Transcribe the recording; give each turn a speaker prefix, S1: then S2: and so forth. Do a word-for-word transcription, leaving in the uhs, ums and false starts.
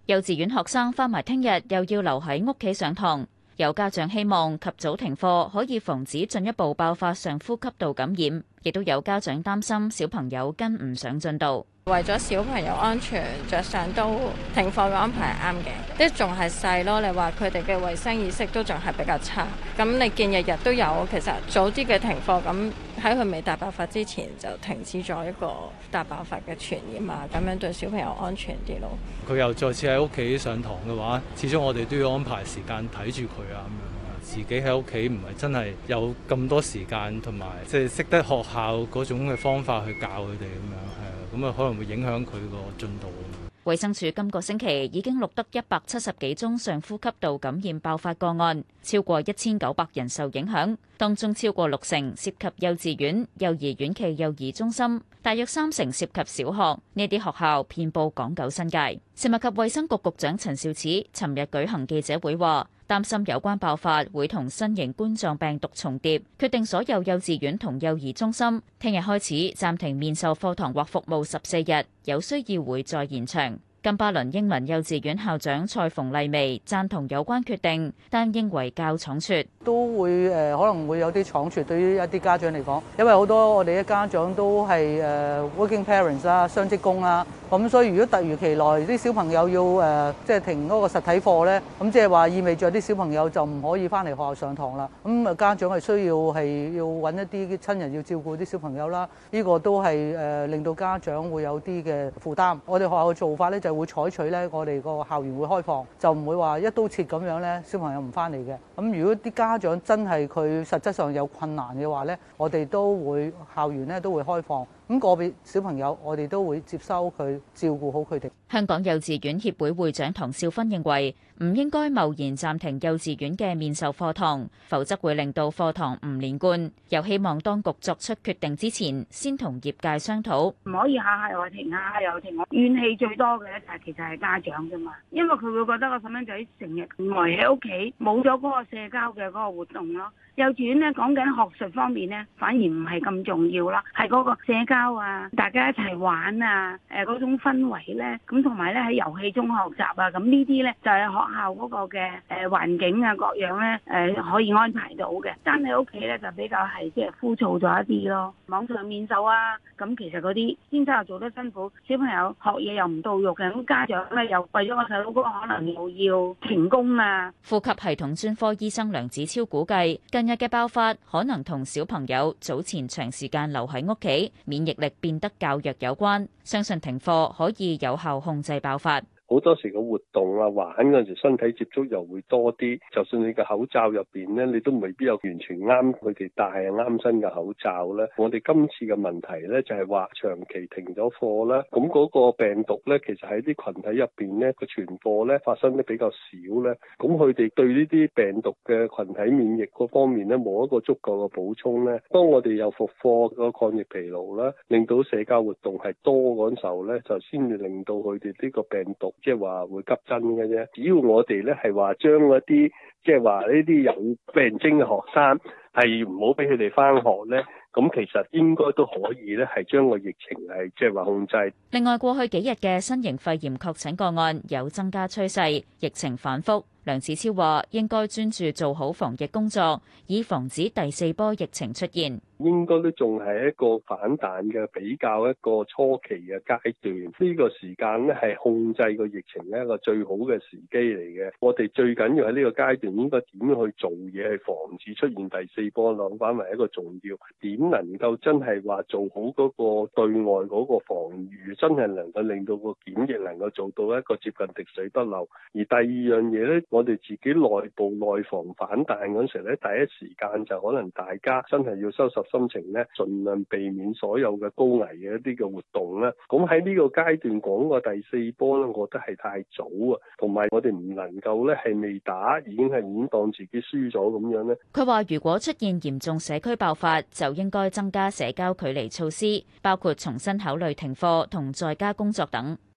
S1: 幼稚園學生返埋聽日又要留喺屋企上堂，有家長希望及早停課，可以防止進一步爆發上呼吸道感染，亦都有家長擔心小朋友跟唔上進度。
S2: 為咗小朋友安全着想，都停課嘅安排係啱嘅，啲仲係細咯。你話佢哋嘅衛生意識都仲係比較差，咁你見日日都有，其實早啲嘅停課，咁喺佢未大爆發之前就停止咗一個大爆發嘅傳染啊，咁樣對小朋友安全啲咯。
S3: 佢又再次喺屋企上堂嘅話，始終我哋都要安排時間睇住佢啊，咁樣自己喺屋企唔係真係有咁多時間，同埋即係識得學校嗰種嘅方法去教佢哋咁樣，係啊，咁啊可能會影響佢個進度。
S1: 衛生署今個星期已經錄得一百七十幾宗上呼吸道感染爆發個案，超過一千九百人受影響，當中超過六成涉及幼稚園、幼兒園暨幼兒中心，大約三成涉及小學。呢啲學校遍佈港九新界。食物及衛生局局長陳肇始尋日舉行記者會話，擔心有關爆發會同新型冠狀病毒重疊，決定所有幼稚園同幼兒中心聽日開始暫停面授課堂或服務十四日，有需要會再延長。金巴倫英文幼稚園校長蔡馮麗薇贊同有關決定，但認為較倉促，
S4: 都會誒可能會有啲倉促對於一啲家長嚟講，因為好多我哋嘅家長都係誒 working parents 啦，雙職工啦，咁所以如果突如其來啲小朋友要誒即係停嗰個實體課咧，咁即係話意味著啲小朋友就唔可以翻嚟學校上堂啦。咁啊家長係需要係要揾一啲親人要照顧啲小朋友啦，呢個都係誒令到家長會有啲嘅負擔。我哋學校嘅做法咧就會採取咧，我哋個校園會開放，就唔會話一刀切咁樣咧，小朋友唔翻嚟嘅。咁如果啲家長真係佢實質上有困難嘅話咧，我哋都會校園咧都會開放。咁個別小朋友，我哋都會接收佢，照顧好佢哋。
S1: 香港幼稚園協會會長唐少芬認為，唔應該貿然暫停幼稚園嘅面授課堂，否則會令到課堂唔連貫。又希望當局作出決定之前，先同業界商討。
S5: 唔可以下下又停，下下又停。怨氣最多嘅咧，就係其實係家長啫嘛，因為佢會覺得個細蚊仔成日呆喺屋企，冇咗嗰個社交嘅嗰個活動咯。幼稚園咧講緊學術方面咧，反而唔係咁重要啦，係嗰個社交啊，大家一齊玩啊，誒嗰種氛圍咧，咁同埋咧喺遊戲中學習啊，咁呢啲咧就係學校嗰個嘅誒環境啊各樣咧誒可以安排到嘅。但係屋企咧就比較係即係枯燥咗一啲咯。網上面授啊，咁其實嗰啲先生又做得辛苦，小朋友學嘢又唔到肉嘅，咁家長咧又為咗個細佬哥可能又要停工啊。
S1: 呼吸系統專科醫生梁子超估計，近日嘅爆發可能同小朋友早前長時間留喺屋企，免疫力變得較弱有關，相信停課可以有效控制爆發。
S6: 好多時個活動啊，玩嗰陣時身體接觸又會多啲，就算你個口罩入邊咧，你都未必有完全啱佢哋戴啊啱身嘅口罩咧。我哋今次嘅問題咧就係話長期停咗課啦，咁嗰個病毒咧其實喺啲群體入邊咧個傳播咧發生得比較少咧，咁佢哋對呢啲病毒嘅群體免疫嗰方面咧冇一個足夠嘅補充咧，當我哋又復課個抗疫疲勞啦，令到社交活動係多嗰時候咧，就先至令到佢哋呢個病毒。即係話會急增嘅啫，只要我哋咧係話將嗰啲即係話呢啲有病徵嘅學生係唔好俾佢哋返學咧，咁其實應該都可以咧係將個疫情係即係話控制。
S1: 另外，過去幾日嘅新型肺炎確診個案有增加趨勢，疫情反覆。梁子超話應該專注做好防疫工作，以防止第四波疫情出現。
S6: 應該都仲係一個反彈嘅比較一個初期嘅階段，呢個時間咧係控制個疫情一個最好嘅時機嚟嘅。我哋最緊要喺呢個階段應該點樣去做嘢，去防止出現第四波，諗翻為一個重要。點能夠真係話做好嗰個對外嗰個防禦，真係能夠令到個檢疫能夠做到一個接近滴水不漏。而第二樣嘢咧，我哋自己內部內防反彈嗰時咧，第一時間就可能大家真係要收拾心情咧，盡量避免所有嘅高危嘅一啲嘅活動啦。咁喺呢個階段講個第四波咧，我覺得係太早啊，同埋我哋唔能夠咧係未打已經係已經當自己輸咗咁樣咧。
S1: 佢話：如果出現嚴重社區爆發，就應該增加社交距離措施，包括重新考慮停課同在家工作等。